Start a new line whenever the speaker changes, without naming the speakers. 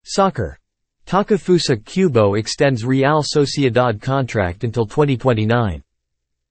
Soccer. Takefusa Kubo extends Real Sociedad contract until 2029.